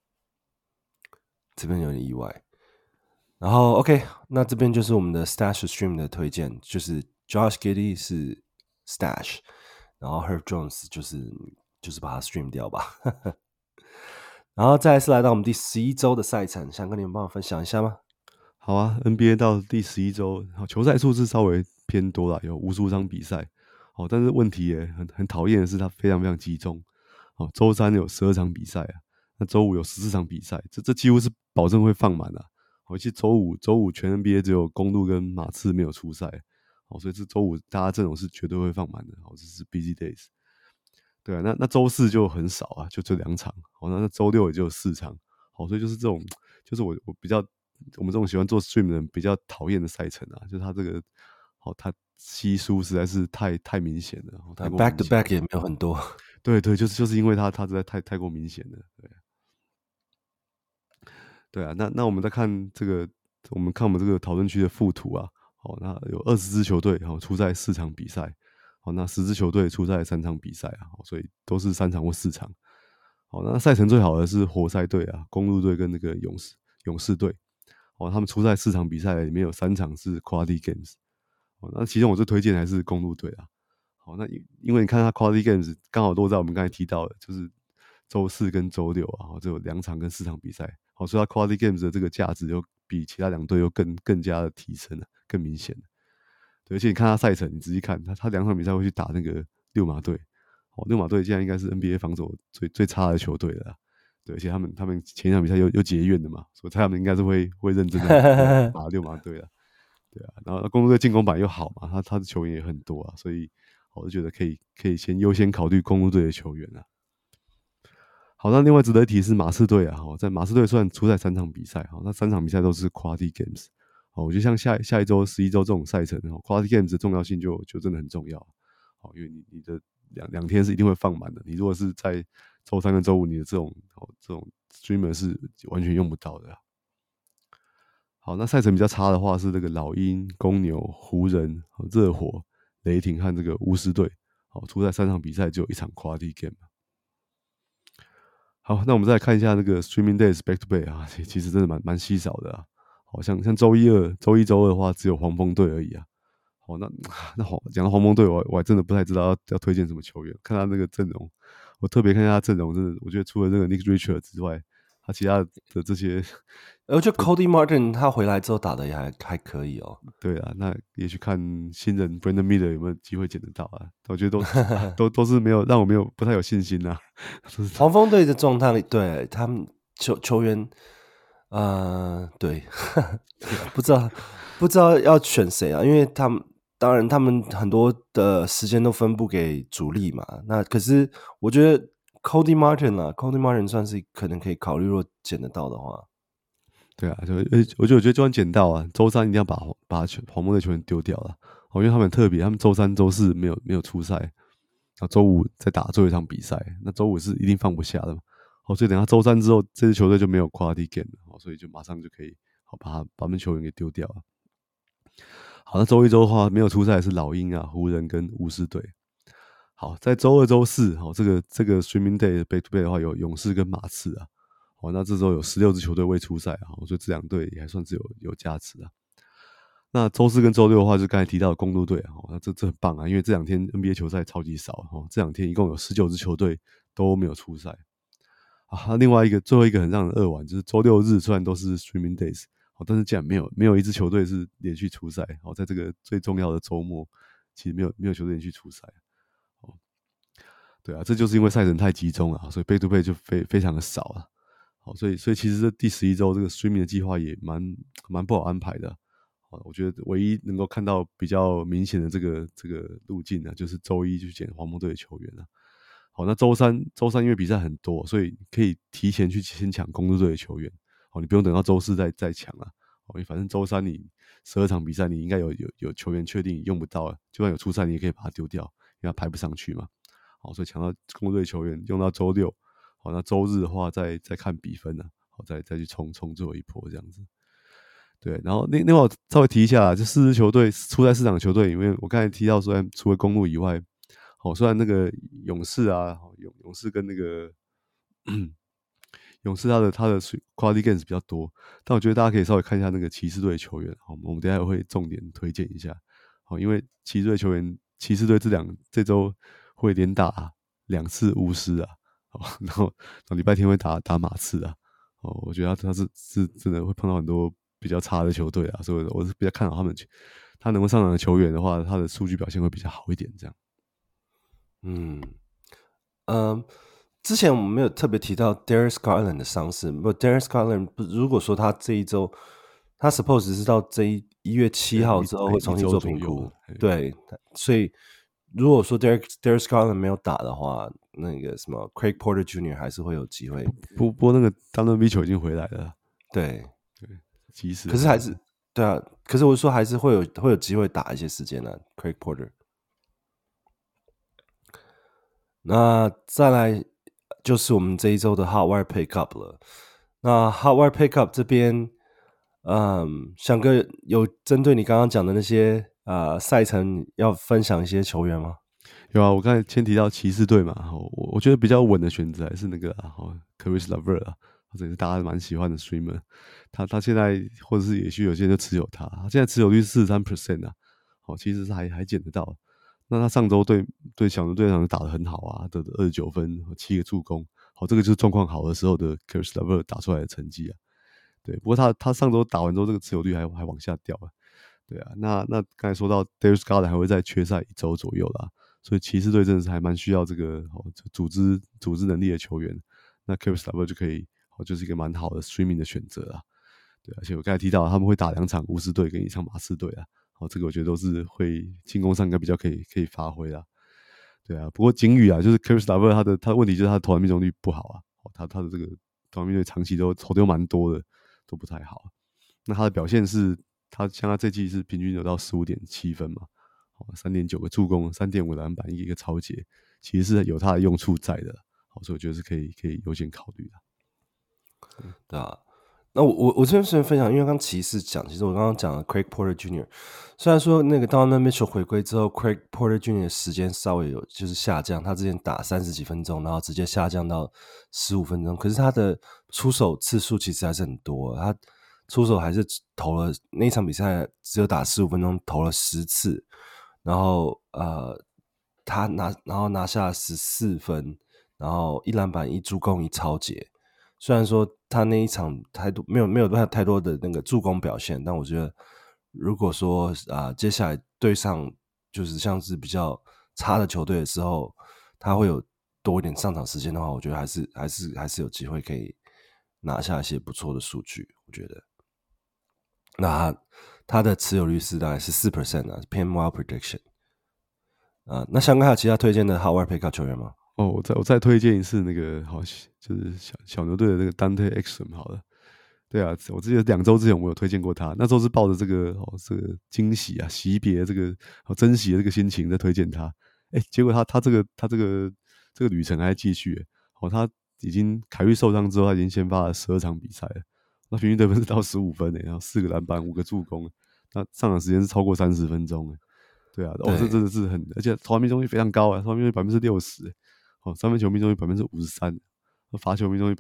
這邊有點意外。然後 OK， 那這邊就是我們的 Stash Stream 的推薦，就是 Josh Giddey 是 Stash。然後 Herb Jones 就是把它 stream 掉吧然後再來是來到我們第11周的賽程，想跟你們幫我分享一下嗎？ 好啊， NBA 到第11周，球賽數字稍微偏多啦，有55場比賽，但是問題也很討厭的是它非常非常集中，周3有12場比賽啊，那周5有14場比賽，這幾乎是保證會放滿啊。其實周五全 NBA 只有公鹿跟馬刺沒有出賽。所以這周5大家陣容是絕對會放滿的，這是 busy days。對啊，那周4就很少啊，就這2場。那周6也就4場。所以就是這種，就是我們這種喜歡做 stream 的人比較討厭的賽程啊，就是他這個，他稀疏實在是太明顯了。 back to back 也沒有很多。 對，就是因為他實在太過明顯了。對啊，那我們再看這個，我們這個討論區的附圖啊。那有20支球隊出賽4場比賽，那10支球隊出賽3場比賽啊，所以都是3場或4場。那賽程最好的是活塞隊啊、公鹿隊跟那個勇士隊，他們出賽4場比賽裡面有3場是 quality games。那其中我最推薦還是公鹿隊啊， 好，那因為你看他 Quality Games 剛好落在我們剛才提到的，就是週4跟週6啊，只有2場跟4場比賽。好，所以他 Quality Games 的這個價值又比其他2隊又更加的提升了，更明顯了。對，而且你看他賽程，你仔細看他2場比賽會去打那個溜馬隊。哦，溜馬隊現在應該是 NBA 防守最差的球隊了啦。對，而且他們前一場比賽又結怨的嘛，所以他們應該是會認真的打溜馬隊了。對啊，然後公鹿隊進攻板又好嘛，他的球員也很多啊，所以我就覺得可以先優先考慮公鹿隊的球員啊。好，那另外值得一提是馬刺隊啊，在馬刺隊雖然出賽3場比賽，那3場比賽都是 Quality Games。我覺得像下一周11周這種賽程，Quality Games 的重要性就真的很重要。因為你的兩天是一定會放滿的，你如果是在周3跟周5，你的這種 streamer 是完全用不到的啊。好，那賽程比較差的話是這個老鷹、公牛、湖人、熱火、雷霆和這個巫師隊。好，出賽3場比賽只有1場 Quality Game。好，那我們再來看一下那個 Streaming Days Back to Back 啊，其實真的蠻稀少的啊。好像周一、周二的話，只有黃蜂隊而已啊。好，那好，講到黃蜂隊，我還真的不太知道要推薦什麼球員。看他那個陣容，我特別看一下他陣容，真的，我覺得除了那個 Nick Richards 之外，他其他的這些， 我覺得 Cody Martin 他回來之後打的也還可以哦。 對啊，那也許看新人 Brandon Miller 有沒有機會撿得到啊？我覺得都是没有讓我不太有信心啊。 黃蜂隊的狀態，對他們球員，對，不知道要選誰啊？因為當然他們很多的時間都分布給主力嘛。那可是我覺得 Cody Martin 算是可能可以考慮，如果撿得到的話。 對啊，我覺得就算撿到啊，周3一定要把黃蜂的球員丟掉了。因為他們很特別，他們周3、周4沒有出賽，然後周5再打最後一場比賽，那周5是一定放不下的嘛。所以等他周3之後，這支球隊就沒有 Quality Game 了，所以就馬上就可以把他們球員給丟掉了。好，那周1、周的話沒有出賽的是老鷹啊、湖人跟巫師隊。好，在周2、周4，這個 Streaming Day Back to Back 的話，有勇士跟馬刺啊。那這周有16支球隊未出賽啊，所以這2隊也還算是有價值啊。那周4跟周6的話，就剛才提到的公鹿隊啊，那這很棒啊，因為這2天 NBA 球賽超級少，這2天一共有19支球隊都沒有出賽啊。另外最後一個很讓人扼腕，就是周6日雖然都是 Streaming Days， 但是竟然沒有一支球隊是連續出賽。在這個最重要的周末，其實沒有球隊連續出賽。對啊，這就是因為賽程太集中了，所以 Back to Back 就非常的少了。好，所以其實這第11周這個 streaming 的計劃也蠻不好安排的。好，我覺得唯一能夠看到比較明顯的這個路徑呢，就是周1就撿黃蜂隊的球員了。好，那周三因為比賽很多，所以可以提前去先搶公鹿隊的球员。好，你不用等到周4再搶了。因為反正周3你12場比賽，你應該有球員確定你用不到了，就算有出賽，你也可以把它丟掉，因為它排不上去嘛。好，所以搶到公鹿隊球員用到周6。好，那周日的話再看比分呢，好，再去衝最後一波這樣子。對，然後另外我稍微提一下，這4支球隊出賽4場球隊，因為我剛才提到，雖然除了公鹿以外，雖然那個勇士啊，勇士跟那個勇士他的 Quality Games 比較多，但我覺得大家可以稍微看一下那個騎士隊的球員。好，我們等一下也會重點推薦一下。好，因為騎士队球員，騎士队這周會連打2次巫師啊。然後禮拜天會打馬刺啊，我覺得他是真的會碰到很多比較差的球隊啊，所以我是比較看好他能夠上場的球員的話，他的數據表現會比較好一點，這樣。 之前我們沒有特別提到 Darius Garland 的傷勢，不 ，Darius Garland 如果說他這一周，他 suppose 是到這1月7號之後會重新做評估，對，所以如果說 Darius Garland 沒有打的話，那個什麼 Craig Porter Jr. 還是會有機會。不過那個 Donovan Mitchell 已經回來了， 對， 及時。 可是還是對啊，可是我說還是會有機會打一些時間的 Craig Porter。那再來就是我們這一周的 Hot Wire Pickup 了。那 Hot Wire Pickup 這邊，翔哥有針對你剛剛講的那些賽程要分享一些球員嗎？ 有啊，我剛才先提到騎士隊嘛，我覺得比較穩的選擇還是那個Caris LeVert 啊，這也是大家蠻喜歡的 streamer。他現在或者是也許有些人就持有他，現在持有率是 43% 啊，其實是還撿得到。 那他上周對小牛隊場打得很好啊，得29分，7個助攻，好，這個就是狀況好的時候的 Caris LeVert 打出來的成績啊。對，不過他上周打完之後，這個持有率還往下掉啊。對啊，那剛才說到 Darius Garland 還會再缺賽1周左右啦，所以騎士隊真的是還蠻需要這個組織能力的球員。那 Caris LeVert 就可以就是一個蠻好的 streaming 的選擇啦。對，而且我剛才提到他們會打2場巫師隊跟1場馬刺隊啊，這個我覺得都是會進攻上應該比較可以發揮啦。對啊，不過警語啊，就是 Caris LeVert 他的問題就是他的投籃命中率不好啊，他的這個投籃命中率長期都投丟蠻多的，都不太好。那他的表現是，他像他這季是平均有到 15.7 分嘛，3.9 個助攻，3.5個籃板，一個抄截，其實是有他的用處在的，所以我覺得是可以優先考慮的。 對啊。那我這邊順便分享，因為剛騎士講，其實我剛剛講了 Craig Porter Jr.， 雖然說那個 Donovan Mitchell 回歸之後 ，Craig Porter Jr. 的時間稍微有就是下降，他之前打30幾分鐘，然後直接下降到15分鐘，可是他的出手次數其實還是很多，他出手還是投了那一場比賽只有打15分鐘，投了10次，然後他拿下14分，然後1籃板1助攻1抄截。雖然說他那一場沒有太多的那個助攻表現，但我覺得如果說接下來對上就是像是比較差的球隊的時候，他會有多一點上場時間的話，我覺得還是有機會可以拿下一些不錯的數據。我覺得，那他的持有率是大概是 4% 啊，偏 wild prediction。那香港還有其他推薦的 Howard Pickup 球員嗎？ 我再推薦一次那個就是小牛隊的那個 Dante Exum 好了。對啊，我記得2周之前我有推薦過他，那時候是抱着這個驚喜啊、惜別這個珍惜的這個心情在推薦他。結果他這個旅程還在繼續。他已經凱瑞受傷之後，他已經先發了12場比賽了，那平均得分是到15分，然後4個籃板5個助攻，那上場時間是超過30分鐘。對啊，這真的是而且投籃命中率非常高啊，投籃命中率60%。三分球命中率53%，罰球命中率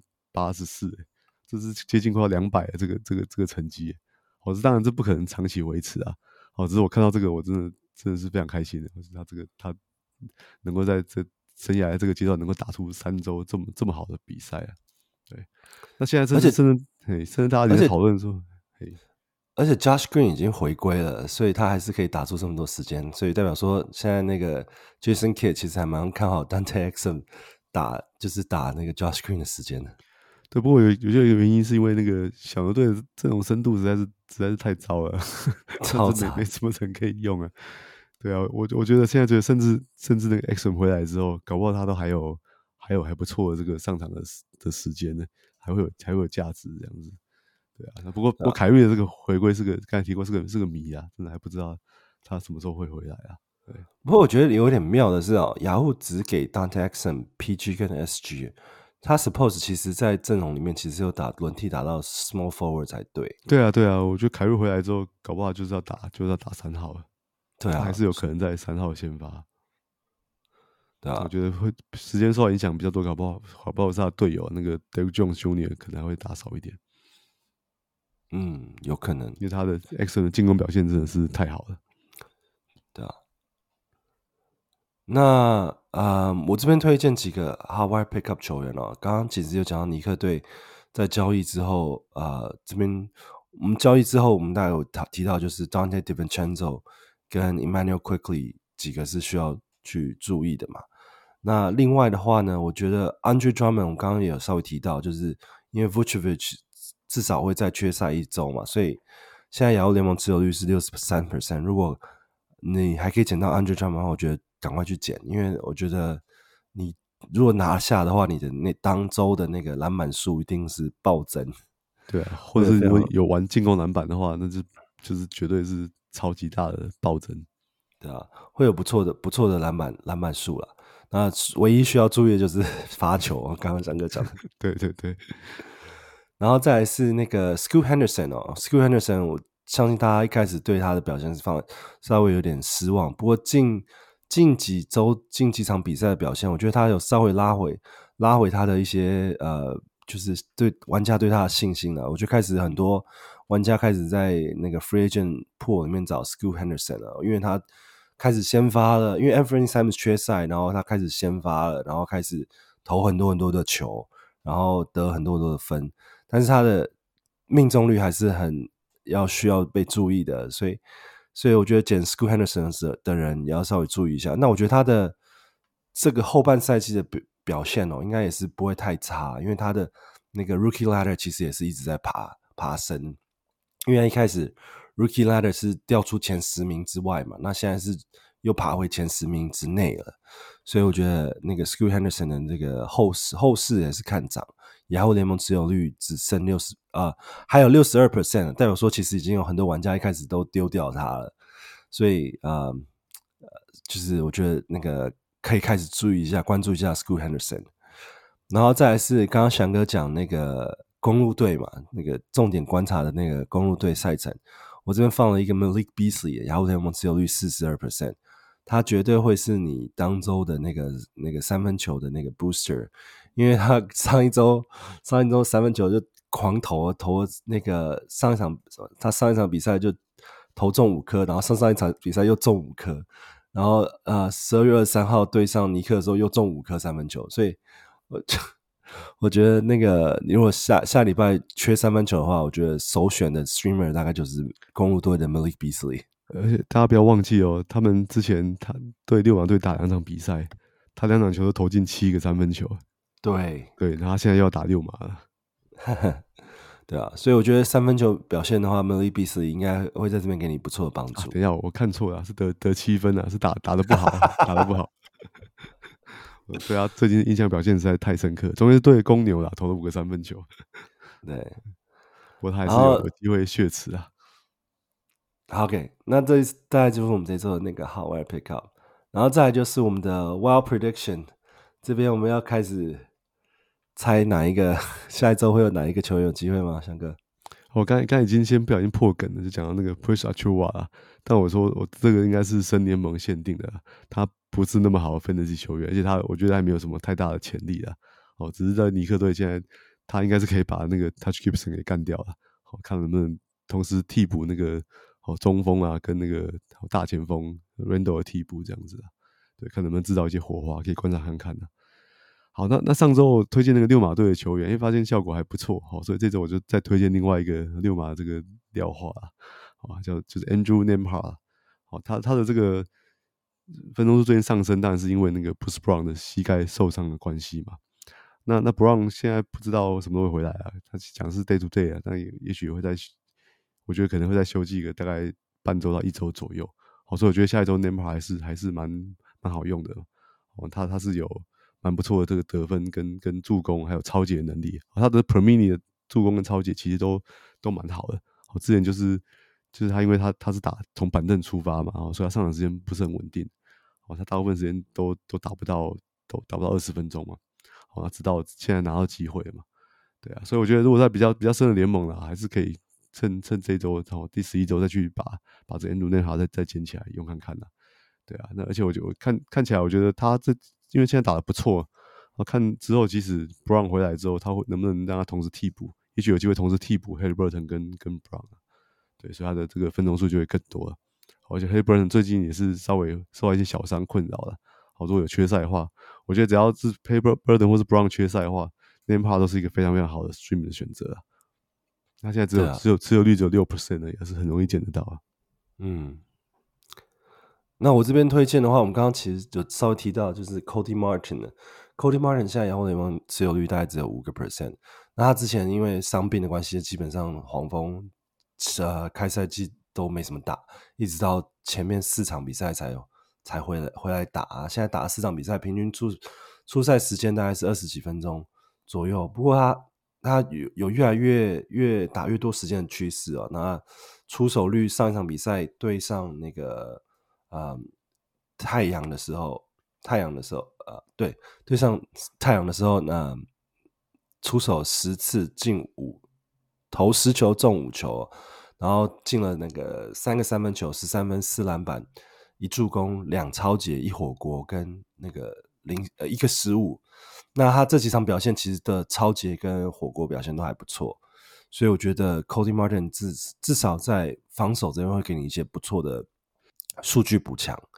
84%，這是接近快要200的這個成績。當然這不可能長期維持啊。只是我看到這個，我真的是非常開心的。他能夠在這生涯的這個階段能夠打出3周這麼好的比賽啊。對，那現在甚至大家也在討論說， 而且 Josh Green 已經回歸了，所以他還是可以打出這麼多時間，所以代表說現在那個 Jason Kidd 其實還蠻看好 Dante Exum 打那個 Josh Green 的時間的。 對，不過有一個原因是因為那個小牛队的這種深度實在是太糟了，超糟，沒什麼人可以用啊。對啊，我覺得現在甚至那個 Exum 回來之後，搞不好他都還有還不錯的這個上場的時間呢，還會有價值這樣子。對啊，不過凱瑞的這個回歸是個剛才提過是個謎啊，真的還不知道他什麼時候會回來啊。對， 不過我覺得有點妙的是雅虎只給 Dante Exum、PG 跟 SG， 他 suppose 其實在陣容裡面其實有輪替打到 small forward 才對。 對啊，我覺得凱瑞回來之後，搞不好就是要打3號了。對啊，還是有可能在3號先發。對啊，我覺得會時間受到影響比較多，搞不好是他的隊友那個 Derrick Jones Jr. 可能還會打少一點。 有可能， 因為他的 Exum 的進攻表现真的是太好了。 对啊，那我這邊推薦幾個 Howard Pickup 球員哦。剛剛其實有講到尼克隊在交易之後，這邊我們交易之後，我們大概有提到就是 Dante DiVincenzo 跟 Emmanuel Quickley 幾個是需要去注意的嘛。那另外的話呢，我覺得 Andre Drummond 我剛剛也有稍微提到，就是因為 Vucevic 至少會再缺賽1周嘛，所以現在亞洲聯盟持有率是 63%。如果你還可以撿到 Andre Drummond 的話，我覺得趕快去撿，因為我覺得你如果拿下的話，你的那當周的那個籃板數一定是暴增。對啊， 或者是如果有玩進攻籃板的話，那就是絕對是超級大的暴增。 對啊，會有不錯的籃板數啦。那唯一需要注意的就是罰球，剛剛翔哥講的。 對。 然後再來是那個 Scoot Henderson Scoot Henderson 我相信大家一開始对他的表現是稍微有點失望，不過近幾場比賽的表現，我覺得他有稍微拉回他的一些就是对玩家对他的信心了。我覺得開始很多玩家開始在那個 Free Agent Pool 裡面找 Scoot Henderson 了，因為他開始先發了，因為 Anthony Simons 缺賽，然後他開始先發了，然後開始投很多很多的球，然後得很多很多的分，但是他的命中率還是需要被注意的，所以我覺得撿 Scoot Henderson 的人也要稍微注意一下。那我觉得他的這個後半賽季的表現應該也是不會太差，因為他的那個 Rookie Ladder 其實也是一直在爬升，因為他一開始 Rookie Ladder 是掉出前10名之外嘛，那現在是又爬回前10名之內了，所以我覺得那個 Scoot Henderson 的這個後市也是看漲，雅虎聯盟持有率只剩還有 62%， 代表說其實已經有很多玩家一開始都丟掉他了，所以就是我覺得那個可以開始注意一下，關注一下 Scoot Henderson。然後再來是剛剛翔哥講那個公鹿隊嘛，那個重點觀察的那個公鹿隊賽程，我這邊放了一個 Malik Beasley， 雅虎聯盟持有率 42%， 他絕對會是你當周的那個三分球的那個 booster， 因為他上一周三分球就狂投那個他上一場比赛就投中5顆，然後上一場比賽又中5顆，然後12月23號對上尼克的時候又中5顆三分球，所以我覺得那個如果下禮拜缺三分球的話，我覺得首選的 streamer 大概就是公鹿队的 Malik Beasley。 而且大家不要忘記他們之前他对溜馬隊打2場比賽，他2場球都投進7個三分球。 对， 然后他現在又要打溜馬了。 对啊，所以我覺得三分球表現的話 Malik Beasley 應該會在這邊給你不錯的幫助。 等一下，我看錯了，是得7分啊，是打得不好，打得不好。對啊，最近印象表現實在太深刻，終於對公牛啦，投了5個三分球。 對， 不過他還是有機會血池啊。 OK， 那這大概就是我們這周的那個 Hot Wire Pickup， 然後再來就是我們的 Wild Prediction， 這邊我們要開始猜哪一個下一周會有哪一個球員有機會嗎？翔哥， 我剛已經先不小心破梗了，就講到那個 Precious Achiuwa 啦，但我說我這個應該是深聯盟限定的，他不是那麼好的 Fantasy 球員，而且我覺得還沒有什麼太大的潛力啦。只是在尼克隊現在他應該是可以把那個 Touch Gibson 給幹掉了，看能不能同時替補那個中鋒啊跟那個大前鋒 Randle 的替補這樣子啦，對，看能不能制造一些火花，可以觀察看看啦。好，那上周我推薦那個溜馬隊的球員，因為發現效果還不錯，所以這周我就再推薦另外一個溜馬這個廖化啦，就是 Andrew Nembhard， 他的這個分鐘數最近上升，當然是因為那個 Bruce Brown 的膝蓋受傷的關係嘛。那 Brown 現在不知道什麼時候會回來啊，他講是 day to day 啊，但也許會我覺得可能會再休息個大概半周到1周左右。所以我覺得下一周 Nembhard 還是蠻好用的。他是有蠻不錯的這個得分跟助攻還有抄截的能力，他的 per minute 的助攻跟抄截其實都蠻好的。之前就是他因為他是從板凳出發嘛，所以他上場時間不是很穩定，他大部分時間都打不到20分鐘嘛，他直到現在拿到機會了嘛，對啊，所以我覺得如果在比較深的聯盟啦，還是可以趁這一周第11周再去把這 Andrew Nembhard 再撿起來用看看啦，對啊，那而且我看起來我覺得他因為現在打得不錯，我看之後即使 Brown 回來之後，他能不能讓他同時替補？也許有機會同時替補 Haliburton 跟 Brown， 對，所以他的這個分鐘數就會更多了。而且 Haliburton 最近也是稍微受到一些小傷困擾了。如果有缺賽的話，我覺得只要是 Haliburton 或是 Brown 缺賽的話 ，Nembhard 都是一個非常非常好的 stream 的選擇。他現在只有持有率只有 6% 的，也是很容易撿得到啊。 那我這邊推薦的話，我們剛剛其實就稍微提到，就是 Cody Martin 的 Cody Martin 現在雅虎聯盟持有率大概只有 5%。那他之前因為傷病的關係，基本上黃蜂開賽季都沒什麼打，一直到前面4場比賽才回來打。現在打了4場比賽，平均出賽時間大概是20幾分鐘左右。不過他有越來越打越多時間的趨勢哦。那出手率上一場比賽對上那個太陽的時候，對上太陽的時候，出手10次進5，投10球中5球，然後進了那個3個三分球，13分4籃板1助攻2抄截1火鍋跟那個1個失誤。那他這幾場表現其實的抄截跟火鍋表現都還不錯，所以我覺得 Cody Martin 至少在防守這邊會給你一些不錯的數據補強。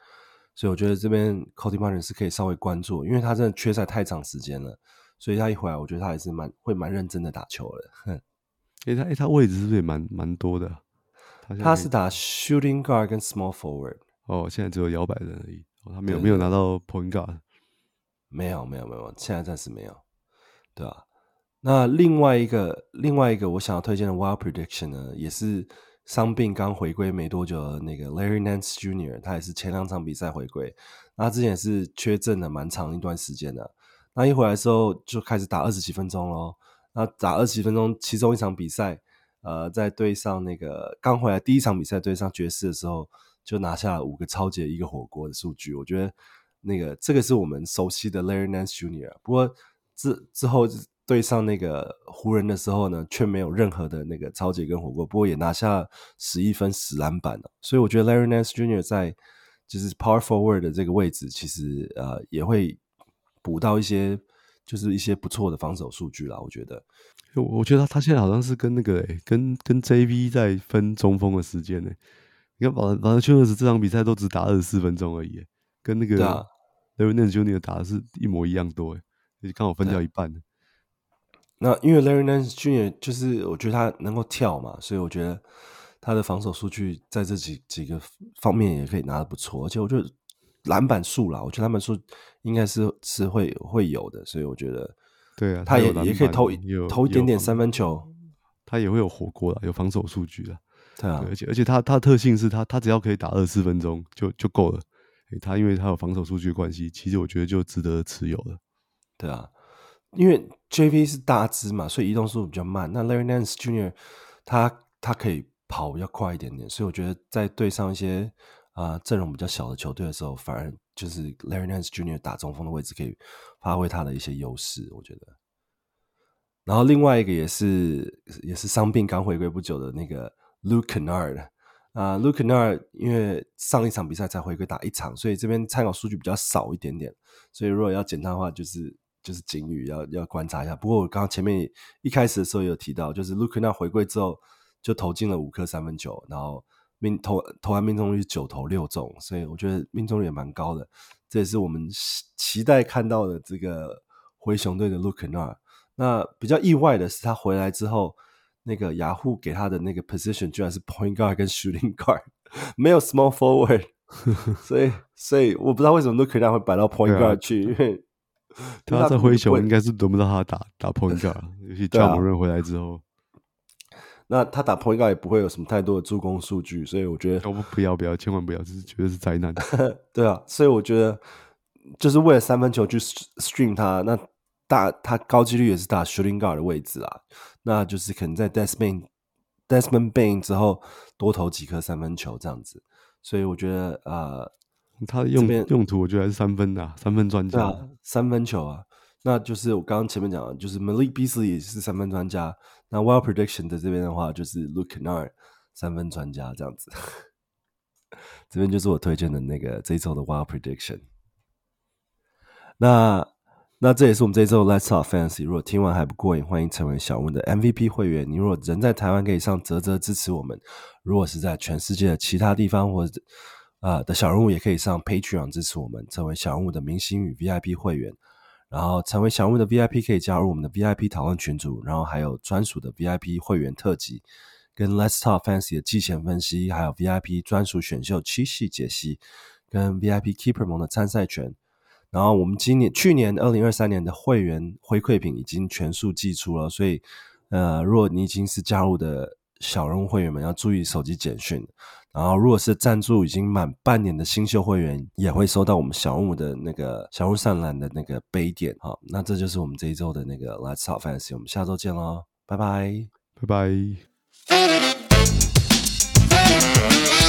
所以我覺得這邊 Cody Martin 是可以稍微關注，因為他真的缺賽太長時間了，所以他一回來，我覺得他還是會蠻認真的打球的。 他位置是不是也蠻多的？ 他是打 shooting guard 跟 small forward。 哦，現在只有摇擺人而已，他沒有拿到 point guard。 沒有，現在暫時沒有，對啊。那另外一個我想要推薦的 Wild Prediction 呢，也是傷病剛回歸沒多久的那個 Larry Nance Jr.， 他也是前2場比賽回歸，那他之前也是缺陣了蠻長一段時間的。那一回來的時候就開始打20幾分鐘咯，那打20幾分鐘，其中一場比賽，在對上那個剛回來第一場比賽對上爵士的時候，就拿下了5個抄截1個火鍋的數據。我覺得這個是我們熟悉的 Larry Nance Jr.， 不過之後對上那個湖人的時候呢，卻沒有任何的那個抄截跟火鍋，不過也拿下11分10籃板了。所以我覺得 Larry Nance Jr. 在就是 Power Forward 的這個位置，其實也會補到一些不錯的防守數據啦。我覺得他現在好像是跟跟 JV 在分中鋒的時間呢。你看保羅丘这場比賽都只打24分鐘而已，跟那個 Larry Nance Jr. 打的是一模一樣多，剛好分掉一半。 那因為 Larry Nance Jr. 就是我覺得他能夠跳嘛，所以我覺得他的防守數據在這幾個方面也可以拿得不錯，而且我覺得籃板數啦，我覺得籃板數應該是會有的，所以我覺得對啊， 他也可以投一點點三分球， 他也會有火鍋啦，有防守數據啦。 對啊， 對，而且他的特性是他只要可以打24分鐘就夠了。他因為他有防守數據的關係，其實我覺得就值得持有了。 對啊，因為 JV 是大只嘛，所以移動速度比較慢。那 Larry Nance Jr. 他可以跑比較快一點點，所以我覺得在對上一些陣容比較小的球隊的時候，反而就是 Larry Nance Jr. 打中鋒的位置可以發揮他的一些優勢，我覺得。然後另外一個也是傷病剛回歸不久的那個 Luke Kennard。Luke Kennard 因為上一場比賽才回歸打1場，所以這邊參考數據比較少一點點，所以如果要檢他的話，就是警語要觀察一下。不過我剛剛前面一開始的時候也有提到，就是 Luke Kennard 回歸之後就投進了5顆三分球，然後投籃命中率9投6中，所以我覺得命中率也蠻高的，這也是我們期待看到的這個灰熊隊的 Luke Kennard。那比較意外的是他回來之後，那個雅虎給他的那個 position 居然是 point guard 跟 shooting guard， 沒有 small forward， 所以我不知道為什麼 Luke Kennard 會擺到 point guard 去，因為他在灰熊應該是輪不到他打 point guard， 尤其Ja Morant回來之後， 那他打 point guard 也不會有什麼太多的助攻數據，所以我覺得不要，千萬不要，這是絕對是災難。 對啊，所以我覺得就是為了三分球去 stream 他，那他高幾率也是打 shooting guard 的位置啊，那就是可能在 Desmond Bane 之後多投幾顆三分球這樣子，所以我覺得他的用途我覺得還是三分啊，三分專家。 對啊，三分球啊，那就是我剛剛前面講的，就是 Malik Beasley 也是三分專家，那 Wild Prediction 的這邊的話就是 Luke Kennard 三分專家這樣子，這邊就是我推薦的那個這一周的 Wild Prediction。那這也是我們這一周的 Let's Talk Fantasy。如果聽完還不過癮，歡迎成為小人物的 MVP 會員。你如果人在台灣，可以上嘖支持我們；如果是在全世界的其他地方或者的小人物，也可以上 Patreon 支持我們，成為小人物的明星與 VIP 會員。然後成為小人物的 VIP 可以加入我們的 VIP 討論群組，然後還有專屬的 VIP 會員特輯，跟 Let's Talk Fantasy 的季前分析，還有 VIP 專屬選秀7系解析，跟 VIP Keeper 盟的參賽權。然後我們去年2023年的會員回饋品已經全數寄出了，所以如果你已經是加入的小人物會員們，要注意手機簡訊。然後如果是贊助已經滿半年的新秀會員，也會收到我們小人物的那個小人物上籃的那個杯墊。好，那這就是我們這一周的那個 Let's Talk Fantasy， 我們下周見咯，拜拜， 拜拜。